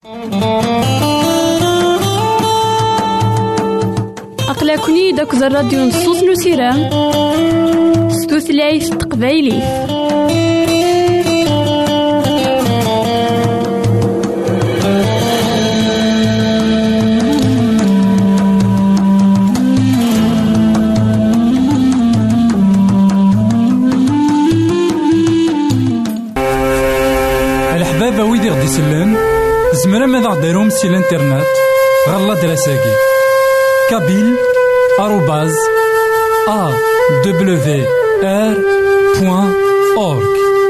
أقلكني داك الراديو نصوص نسيران ستوثلايف تقبايلي. الحبابة ويدي غدي سلان زمرا ماذا غديرهم سي الانترنت غالا دراساكي kabyle@awr.org.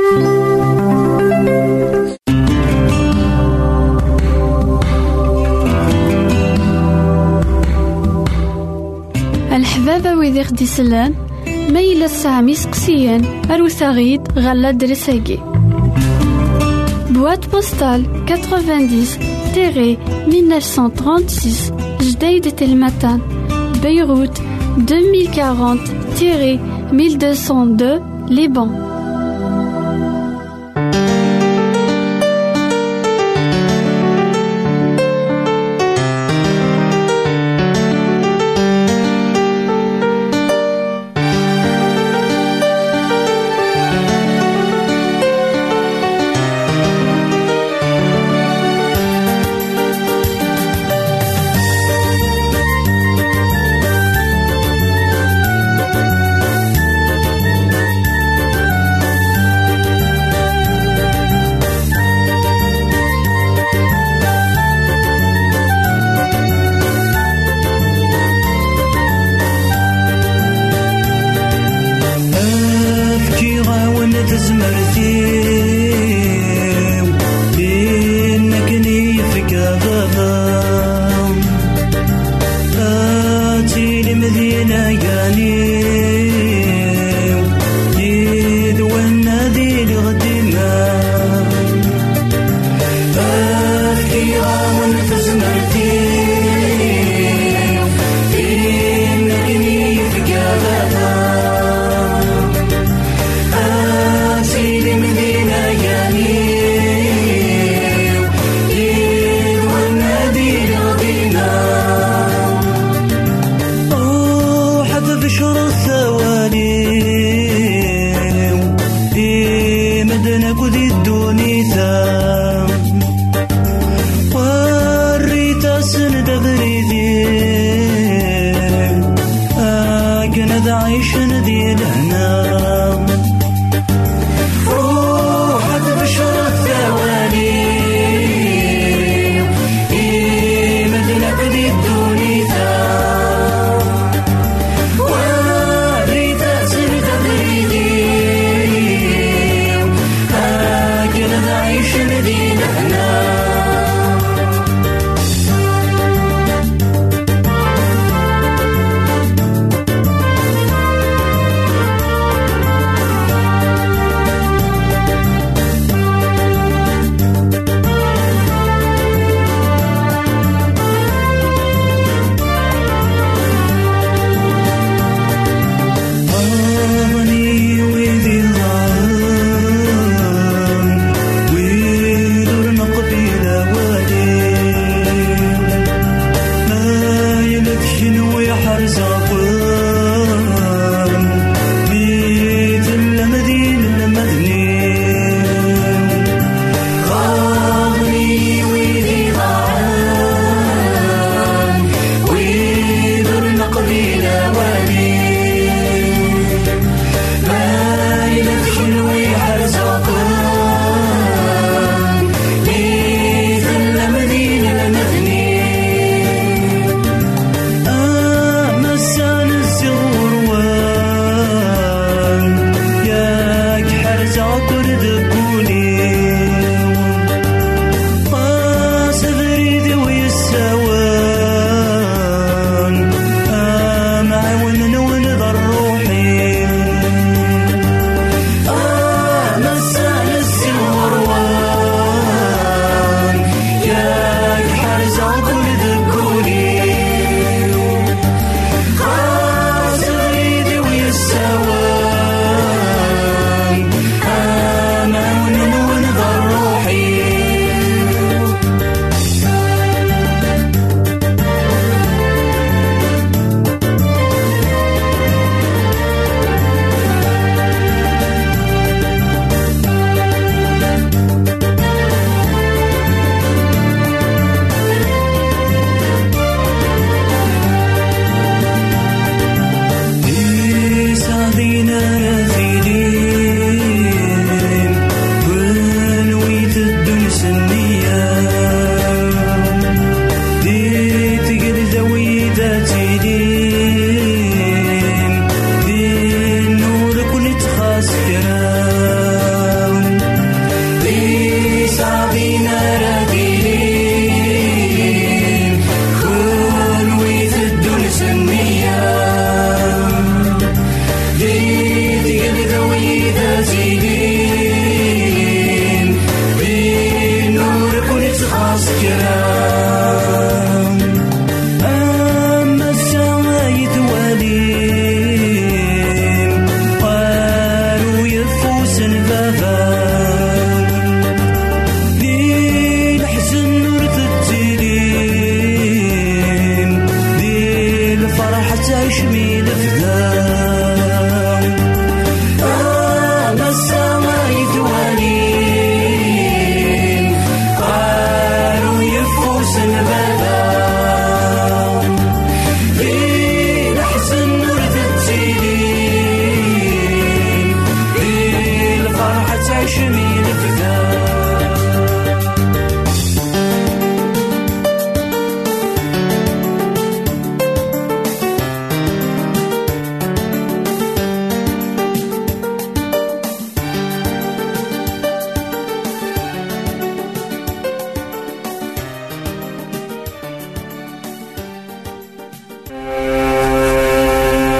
الحبابة ويدي غدي سلان ميلا سامي سقسيان أروثاغيد غالا دراساكي boîte postale 90-1936 Jdeï Telmatan, Beyrouth 2040-1202 Liban.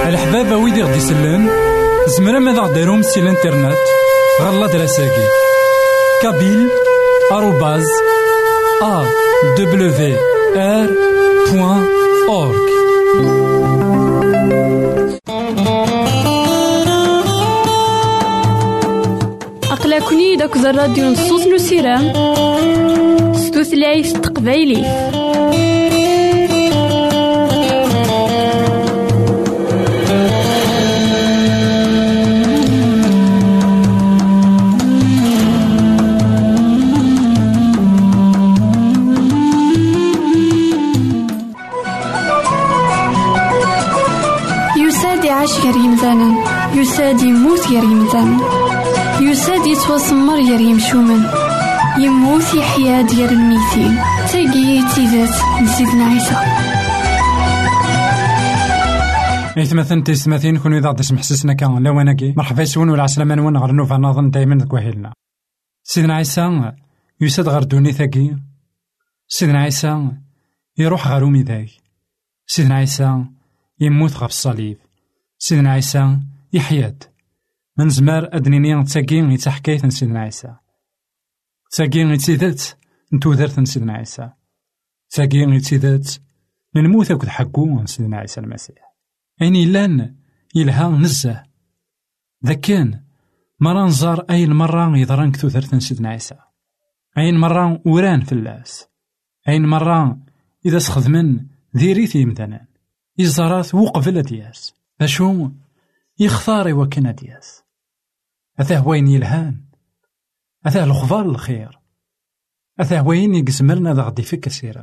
الحبابة ويدي غدي يسلن زمرا ماذا غديرهم سي الانترنت غالا دراساكي kabyle@awr.org. أقلكني داك الراديو نصوص نسيرام ستوثلايف تقبايلي. غير يمثالا يساد يموت غير يمثالا يساد يتوسمر غير يمشومن يموت يحيا ديال الميتين تاقي تيزات لسيدنا عيسى. مثلا تيسماتين كونوا إذا تسمح سسنا كان لواناكي مرحبا يسون ولا عسلامة نون غير نوفا نظن دايما كواهلنا. سيدنا عيسى يساد غير دوني ثاقي. سيدنا عيسى يروح غير وميداي. سيدنا عيسى يموت غير الصليب. سيدنا عيسى يحياد من زمار أدنيني تاقين يتحكيت سيدنا عيسى تاقين يتيدات نتوذرت سيدنا عيسى تاقين يتيدات نموت أكد حقو سيدنا عيسى المسيح. أين لان يلها نزه ذا كان مرة نزار أي مرة يضران كتوذرت سيدنا عيسى أين مرة وران في اللاس أين مرة إذا سخدمن ذيريثي مثلا يزارات وقفل دياس أشو يختار وكنا دياس أثاه وين يلهان أثاه الخضار الخير أثاه وين يقزمرنا ذا غدي فيك سيرم.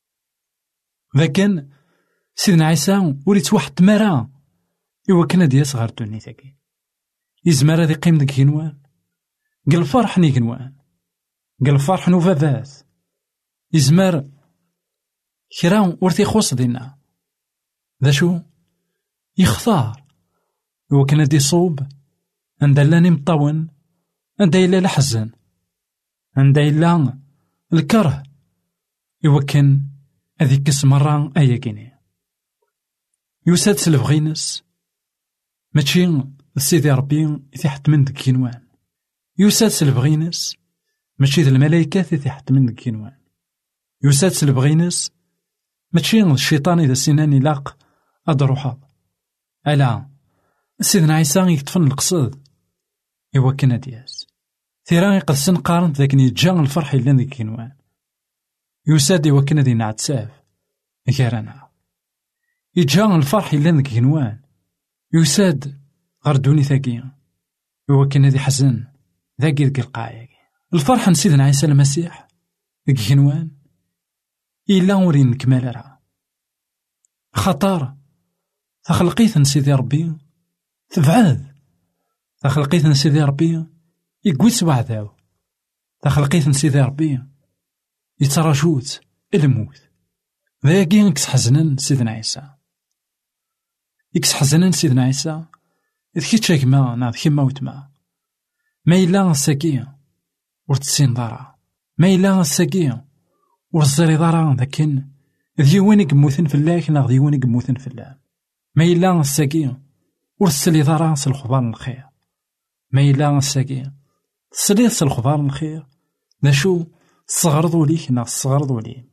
لكن سيدنا عيسى وليت واحد مرا يوكنا دياس غير دوني ثاكي يزمر هذي قيم ديك ينوان قل فرح نيكنوان قل فرح نوفاذات يزمر كرا ورثي خوص دينا ذا شو يختار وكان دي صوب عند لاني مطون عند إلا الحزن عند إلا الكره يوكن هذيك مرة أيا كيني يوساد سلفغينس ماشي سيدي ربي يتحت من ديك كينوان يوساد سلفغينس ماشي الملايكة يتحت من ديك كينوان يوساد سلفغينس ماشي الشيطان إذا سناني لاق أدروحا ألا سيدنا عيسى يكتفن القصد يوكنا دياس ثيران يقدسن قارنت ذاك يتجا الفرح إلا ذيك كينوان يساد يوكنا دينا عتساف غيرنا يتجا الفرح إلا ذيك كينوان يساد غردوني ثاقي يوكنا دي حزن ذاك ذيك القايق الفرح نسيدنا عيسى المسيح ذيك كينوان إلا ورين نكمل راه خطر تخلقيت نسيدي ربي تبعاد تخلقيت نسيدي ربي يقويت وعداو تخلقيت نسيدي ربي يتراجوت الموت ذاكي يكس حزنن سيدنا عيسى يكس حزنن سيدنا عيسى إذ كيتشا كما ناض كما وتما ما إلا الساكية ورتسين دارا ما إلا الساكية ورزري دارا ذاكن ديوانك موثن في الله كنا ديوانك موثن في الله ما إلا الساكية ورسلي دارا الخضار الخير ما إلا الساكية سليت الخضار الخير نشو صغرضوا ليك نا صغرضوا لي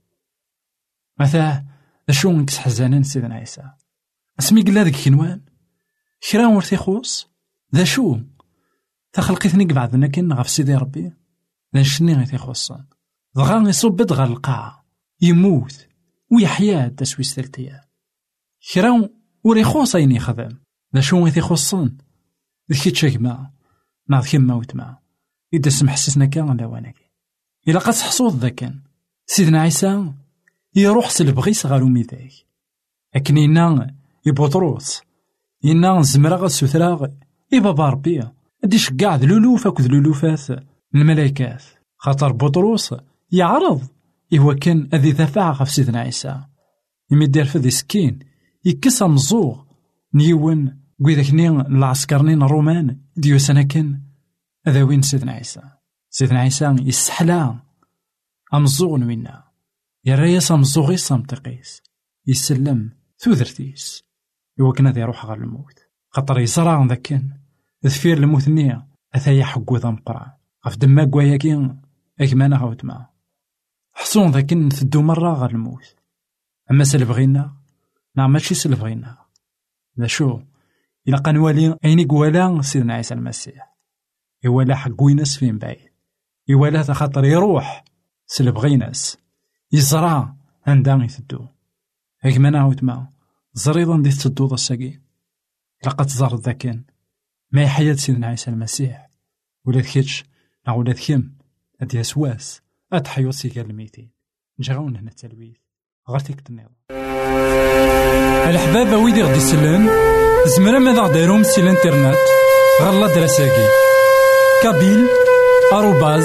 مثلا نشو نكس حزانين سيدنا عيسى اسمي قلا ذيك كنوان كرا ورثي خوص ذا شو تخلقيتني بعضنا كن غف سيدي ربي ذا نشني غيثي خوصان ضغا يصب دغا القاع يموت ويحيا تسويس ثلثيا كرا وري خوصين يخدم ذا شو غيثي خوصان ذكي تشاكما ناض كما وتما إذا سمح حسسنا كان لواناكي إلا قد حصوض ذا كان سيدنا عيسى يروح سلبغي صغارو ميداك لكن إنا يبطروس إنا زمراغ السوثراغ بابا ربي أديش قاع ذلولوف أكو ذلولوفات الملايكات خاطر بطروس يعرض إهو كان أذي ذفاع غف سيدنا عيسى يمدير فذي سكين يكسى مزوغ نيون قويذاكني العسكرنين الرومان ديو سنة كان هذا وين سيدنا عيسى سيدنا عيسى يسحلا أمزوغ نوينا يا ريس أمزوغي صمتقيس يسلم ثوذرتيس يوكن هذا يروح غير الموت، خاطر يصرا ذاك كان ذفير الموت النية أثايا حقو ذا مقرع غف دما كواياكي أكمانا غاوت معاه حصون ذاك نثدو مرة غير الموت. أما سلبغينا نعم ماشي سلبغينا ذا شو إلا قنوالي أين يقوالا سيدنا عيسى المسيح يوالا حقو يناس فين بعيد، يوالا خاطر يروح سلبغيناس يزرع عندها يثدو أكمانا غاوت معاه زريضا دي تدو ذا الساقي لقد زار ذاكن ما حياة سيدنا عيسى المسيح ولا ذكيتش ولا ذكيم هاد يسواس أتحيو سيكال الميتين نجاون هنا التلويث غرتيك النظام. الحبابة ويدي غدي يسلم زمرا ماذا غديرهم سي الانترنت غالا دراساكي كابيل آروباز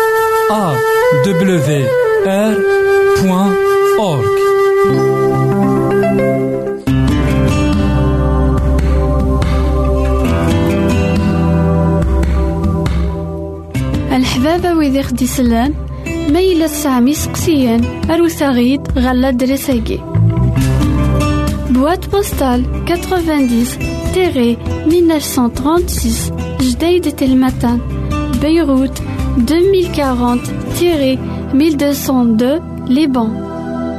awr.org. الحبابة ويدي خدي سلان ما إلا تسعمي سقسيان أروساغيد غالا دراساكي بواد بوستال 90-1936 جديد تلمتان بيروت 2040-1202 لبنان.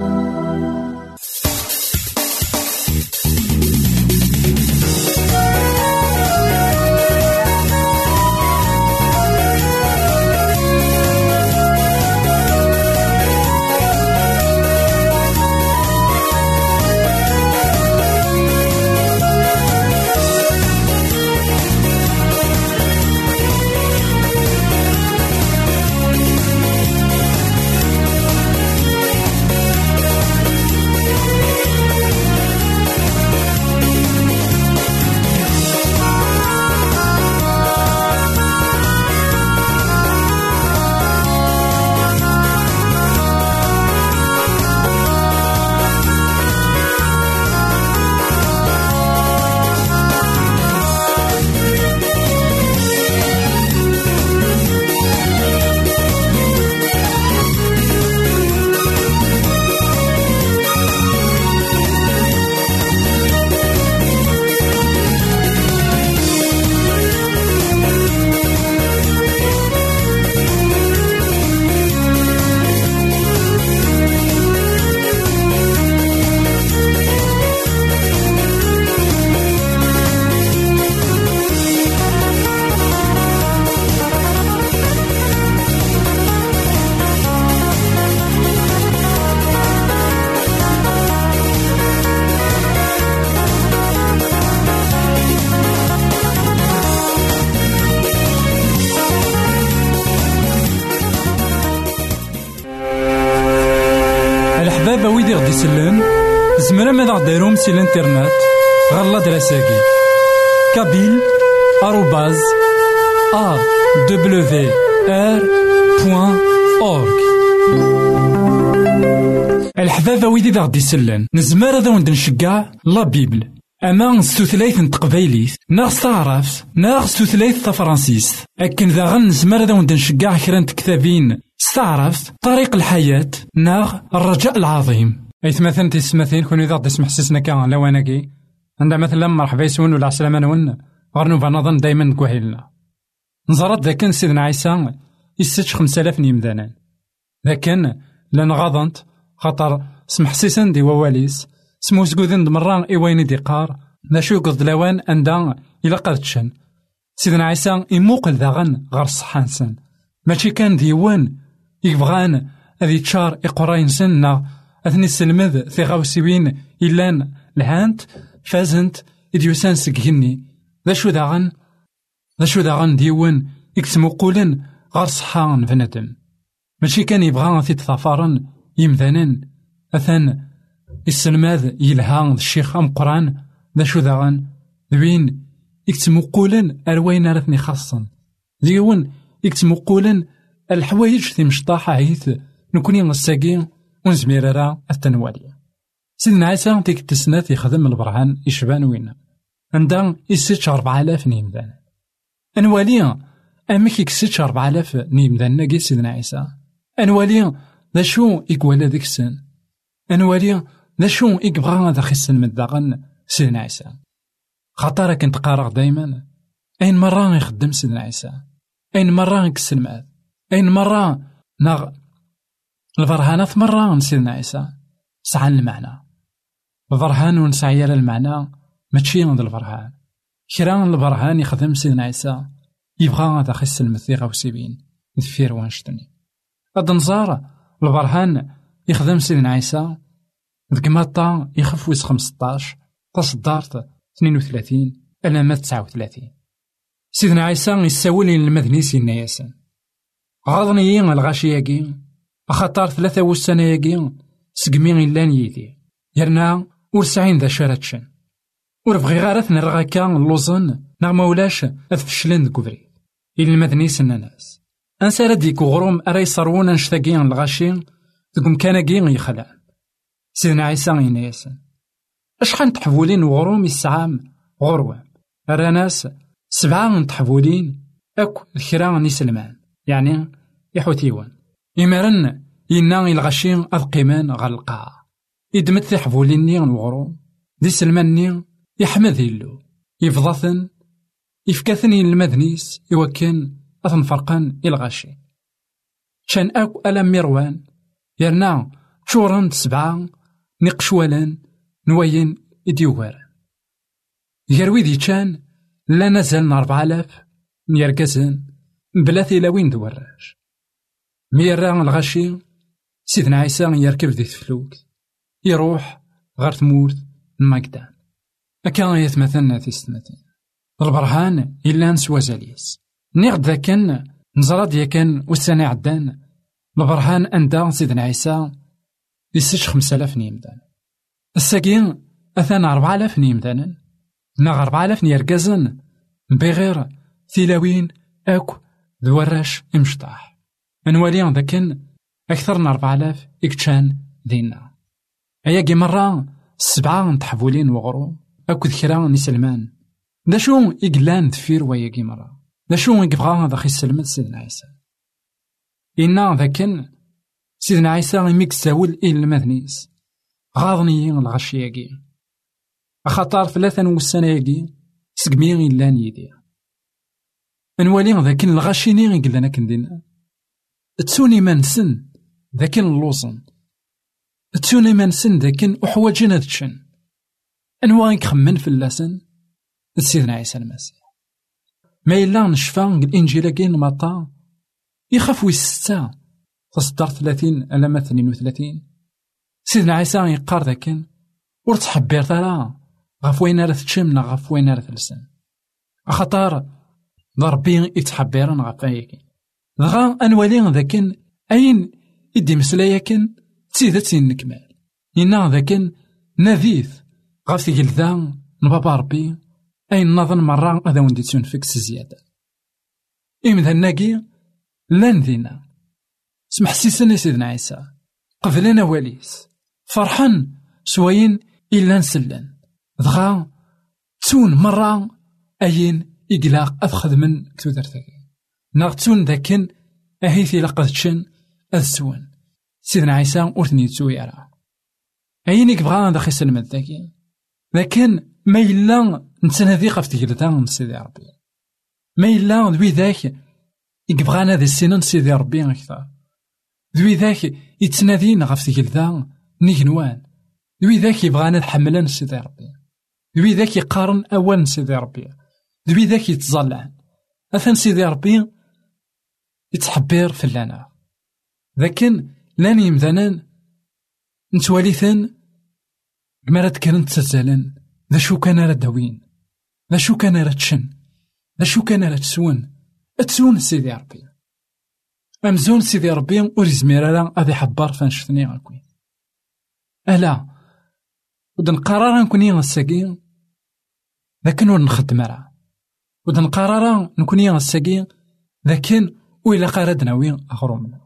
الحبابة ويدي غدي يسلم زمرا ماذا غديرهم سي الانترنت غالا دراساكي كابيل آروباز awr.org. الحبابة ويدي غدي يسلم نزمر هذا وند نشجع لا بيبل أما ستوثلايث نتقبايليث ناغ ستعرف ناغ ستوثلايث تفرانسيس أكن ذا غن نزمر هذا وند نشجع كرانت كتابين استعرفت طريق الحياة ناغ الرجاء العظيم. أيث مثلا تسمثين كون إذا تسمح حسسنا كان لواناكي عندما مثلا مرحبا يسون ولا عسلامة نون غرنو فنظن دايما كوهيلنا نزرت ذا كان سيدنا عيسى يستش 5000 نيمدانان لكن لان غاضنت خاطر سمح سيسن دي وواليس سمو سكوذن دمران إيوين ديقار ذا شو قصد لوان أندا إلا قرتشن سيدنا عيسى يموقل ذاغن غير الصحانسن ماشي كان ديوان يبغان هذي تشار إقراين سنة أثني السلمذ ثغاوسيوين إلان لهانت فازنت إديوسان سكهني ذا شو داغن ديوان يكتمو قولن غير صحان بنادم ماشي كان يبغان في تظافرن يمذانن أثن السلماذ يلها الشيخ أم قران ذا شو داغن ذوين يكتمو قولن أروين رثني خاصا ديوان يكتمو قولن الحوايج في مشطاحة عيث نكوني نساقين ونزميرارا التنوالية. سيدنا عيسى تيك التسنات يخدم البرهان يشبان وين عندها يسيتش 4000 نيمدان أنواليا أمك يكسيتش 4000 نيمدان ناقي سيدنا عيسى أنواليا ذا شو يقوالا ذيك السن أنواليا ذا شو يقبغا ذا خسن من داغن سيدنا عيسى. خاطر كنت قارغ دايما أين مرة يخدم سيدنا عيسى، أين مرة يكس الماء، أين مرة البرهانات مرة سيدنا عيسى سعى المعنى. البرهان ونسعي على المعنى ماشي عند البرهان. كرا البرهان يخدم سيدنا عيسى يبغى هذا خس المثيغة وسيبين ذفير وانشتني. هاد نزار البرهان يخدم سيدنا عيسى ذك ماطا يخف ويس 15 تصدارت 32 ألا ما 39. سيدنا عيسى يساولي المذني سيدنا ياسين غاضني الغاشياكي أخطار 3 وسنة ياكي سقمي إلان يدي يرنا ورسعين ذا شارتشن وربغي غارث نرغاكا اللوزن نغما ولاش أثفشلن ذكوفري إلي المذني سنة ناس أنسى رديك وغروم أرى يصرونا نشتاقين الغاشي ذكم كاناكين يخلع. سيدنا عيسى ينا ياسين أشحال تحفولين وغروم يسعام غروام أرى ناس 7 تحفولين أكو الكرا نيسلمان يعني يحوتيوان إمارن ينا الغشين أذقيمان غالقاع يدمت تحفوليني وغروم دي سلماني يحمد يلو يفضثن يفكاثني المذنيس يوكن أثن فرقان الغاشي شان أكو ألم مروان يرنا شورن 7 نقشوالان نوين إديوغاران يروي دي كان لا نزال 4000 ميركزن بلا ثلاوين دوراج ميرا الغاشي سيدنا عيسى يركب ذي الفلوك يروح غير ثمورت المقدام أكان يتمثلنا في السنتين البرهان إلا نسوى زاليس نيغد ذاكن نزراد يكن والسنة عدان البرهان أندا سيدنا عيسى يسج 5000 نيمدان الساقين أثان 4000 نيمدان ناغ 4000 نيركزن بغير ثلاوين أكو ذوراش امشطاح انواليان ذاكن أكثر من 4000 إكتشان دينا أياكي مرة 7 تحفولين وغرو أكو ذكرا نسلمان دا شو إقلان دفير وياكي مرة دا شو يبغى هذا خي سلمت سيدنا عيسى إنا ذاكن سيدنا عيسى يميك ساول إلى المذنيس غاضني الغشياكي أخطار 3 والسنة ياكي سقمي إلان يدي انوالي ذاكن الغاشيني يقلنا كندينا تسوني منسن ذاكن اللوزن تسوني منسن ذاكن أحواجنا ذاتشن انوالي كخمن في اللسن سيدنا عيسى المسيح ما إلا نشفى الإنجيل كين مطا يخاف ويستا تصدر 30 ألا 32 سيدنا عيسى يقار ذاكن ورتحبير ترى غاف وين راه تشمنا غاف وين راه تلسن أخطار ضربي يتحبيرن غاف أيكين دغا أنوالي ذاكن أين إدي مسلاياكن تسيدتي نكمال إنا ذاكن نذيث غاف تيجلذا نبابا ربي أين نظن مرة هذا وندي تنفكس زيادة إمذا ناقي لان ذينا سمح سيسني سيدنا عيسى قبلنا واليس فرحان سوين إلا نسلن دغا تون مرة أين إقلاق أفخذ من كتودر ثاكي نغتون ذاكن أهيثي لقدتشن أذسون سيدنا عيسى أورثني تسوي أرى أين يبغى ذا خيس المد ذاكي لكن ما إلا نتنادي قف تجلدان سيدي ربي ما إلا ذوي ذاك يبغانا ذا السنان سيدي ربي أكثر ذوي ذاك يتنادينا قف تجلدان نيجنوان ذوي ذاك يبغانا حملان سيدي ربي ذوي ذاك يقارن أول سيدي ربي ذوي ذاك يتظلعن أثن سيدي ربي يتحبير في اللنا لكن لاني يمذنان نتواليثن مرات كانت تسالن ذا شو كان راه داوين ذا شو كان راه تشن ذا شو كان راه تسون سيدي ربي أمزون سيدي ربي وريزمير راه غادي يحبر فنشتني غاكوين ألا ودن قرار نكوني غساكين لكن ونخدم راه ودن قرار نكوني غساكين لكن وإلا قاردنا وين أغرومنا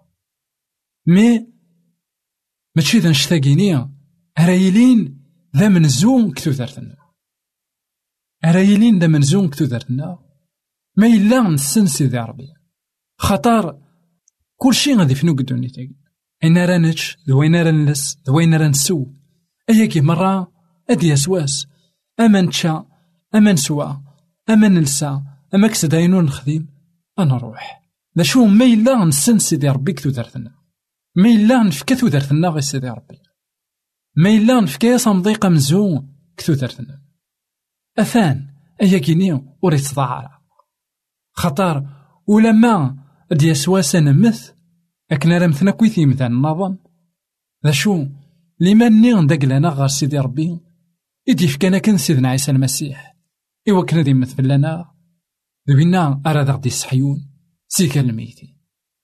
ماشي ذا نشتاقيني هرايلين ذا منزون كتوثرتنا هرايلين ذا منزون كتوثرتنا ما إلا نسن سيدي ربي خطر كل شيء غادي فنو قدوني تاقي إن رانتش ذوين رانلس ذوين رانسو أياكي مرة أدي أسواس أما نتشا أما نسوا أما نلسا أما كسداينو نخدم أنا نروح. ذا شو ما إلا نسن سيدي ربي كتو دارتنا، ما إلا نفكا تو دارتنا غير سيدي ربي، ما إلا نفكا صمضيقة مزو كتو دارتنا. أثان أيا كيني وريت تضاعر خطر ولما ديا سواسا نمث أكنا رمثنا كويثي مثلا النظام. ذا شو لما نيغ داقلنا غير سيدي ربي إدي فكانا كان سيدنا عيسى المسيح إوا كنا دي مثل لنا ذوينا أراد غدي الصحيون سيكا الميتين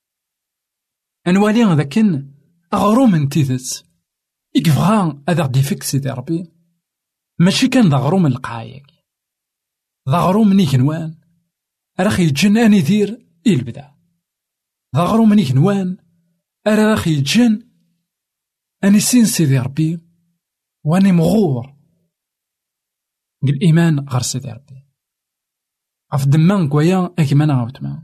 أنوالي ذاكن أغروم من تيثت إكفغان أذا غدي فيك سيدي ربي ماشي كان ذا غروم القايق، ذا غروم نيكنوان راخي يجن أني دير البدا، ذا غروم نيكنوان راخي يجن أني سين سيدي ربي واني مغور بالإيمان غير سيدي ربي عف دمان قويا أكمان عاوتما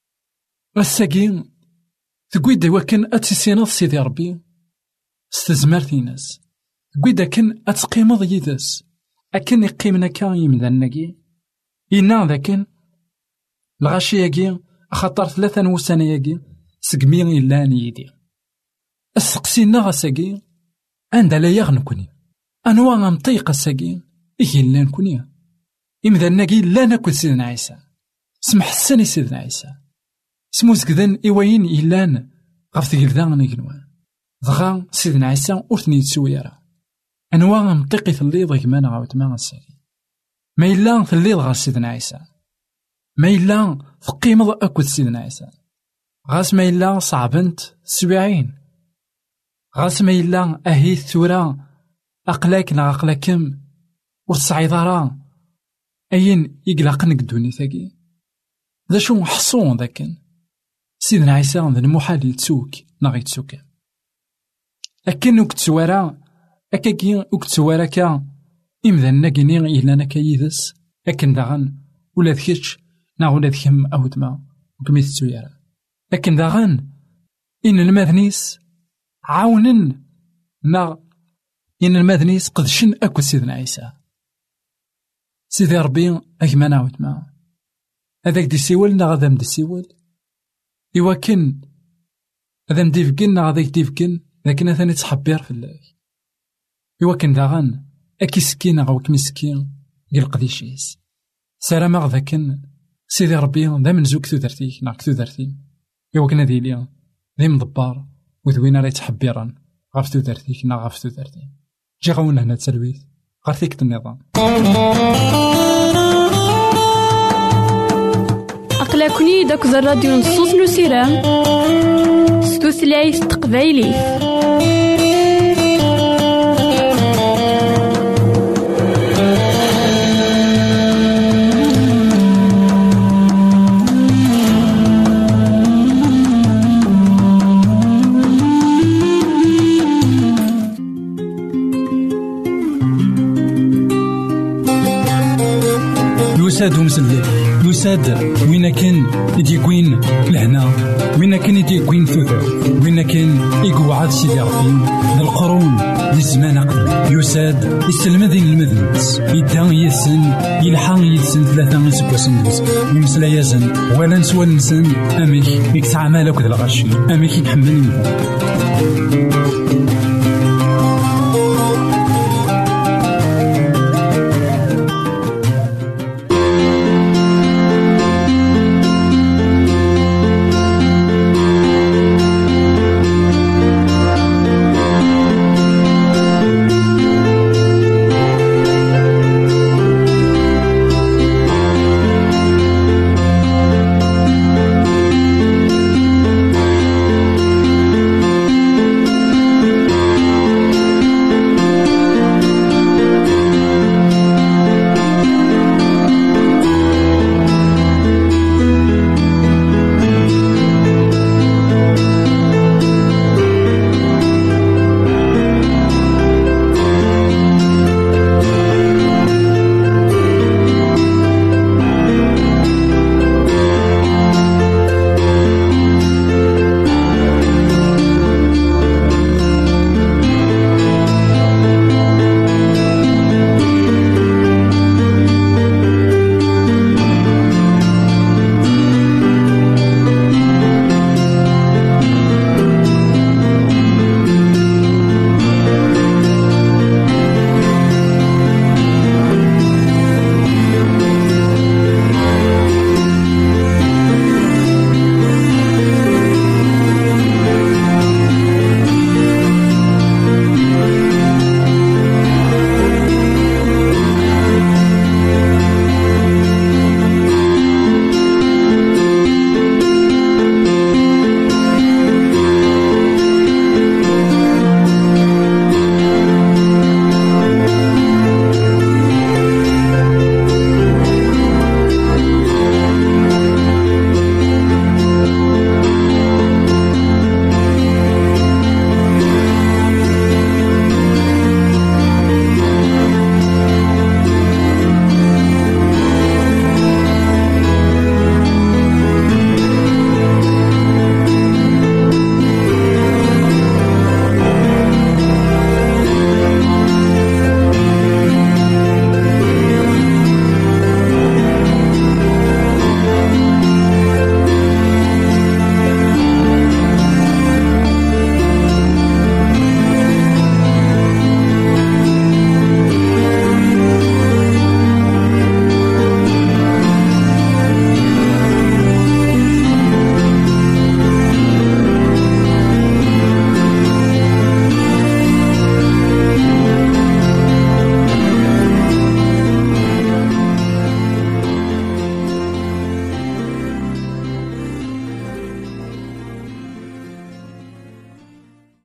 الساقين تقويدا وكان أتسيناض سيدي ربي استزمارتي ناس تقويدا كان أتقيمض يدس أكن يقيمنا كان يمدنكي إنا ذاكن الغاشي ياكي أخطر 3 وسنة ياكي سقمين إلا نيدي السقسينا غاساقي عند لا يغنكني أنواع نطيق الساقين إيه لا نكوني إمذا ناقي لا ناكل سيدنا عيسى سمح السني سيدنا عيسى سموز كذن إيوين إلان غفت قلدان نيكنوان ضغا سيدنا عيسى أرثني تسويرا أنواع نطيقي في الليض كمان غاوت ما غساقي ما إلا في الليض غا سيدنا عيسى ما إلا في قيمة أكل سيدنا عيسى غاس ما إلا صعبنت 70 غاس ما إلا أهيث ثورا أقلاك نا أقلاكم والصعيد راه أين يقلقنك الدوني ثاقي ذا شو حصون ذاكن سيدنا عيسى ذا المحال يتسوك ناغي يتسوك أكن وكتسوارا أكاكي وكتسوارا كا إمذا ناقيني إلا ناكا يدس أكن داغن ولا ذكيتش نا ولا ذكيم أهدما وكميت تسويرا أكن داغن إن الماذنيس عاونن نا إن الماذنيس قدشن أكو سيدنا عيسى سيدي ربي أكما نعود معه هذاك دي سيول نا غادا مدي سيول إوا كن هذا مدي فكن نا غاداك دي فكن لكن ثاني تحبير في الله إوا كن داغن أكي سكين غاوك مسكين قل قديشيس سلام غذاكن سيدي ربي ذا من زوك ثودرتيك نا كثودرتي إوا كنا ديليا ذي مضبار وذوينا راه تحبيرا غاف ثودرتيك نا غاف ثودرتي جي غاونا هنا تسلويث غارثيك النظام أقلكني داك الراديو نصوص نسيران ستوثلايف تقبايلي يساد ومسلي يساد وين كان يديكوين لهنا وين كان يديكوين ثوثر وين كان يقعد سيدي ربي القرون للزمان قبل يساد يسلم ذي المذنبس يدان يسن يلحق يسن 3 سكوسن يمسلا يزن ولا نسوى نسن أميك يكسع مالك ذا الغشي أميك يحمل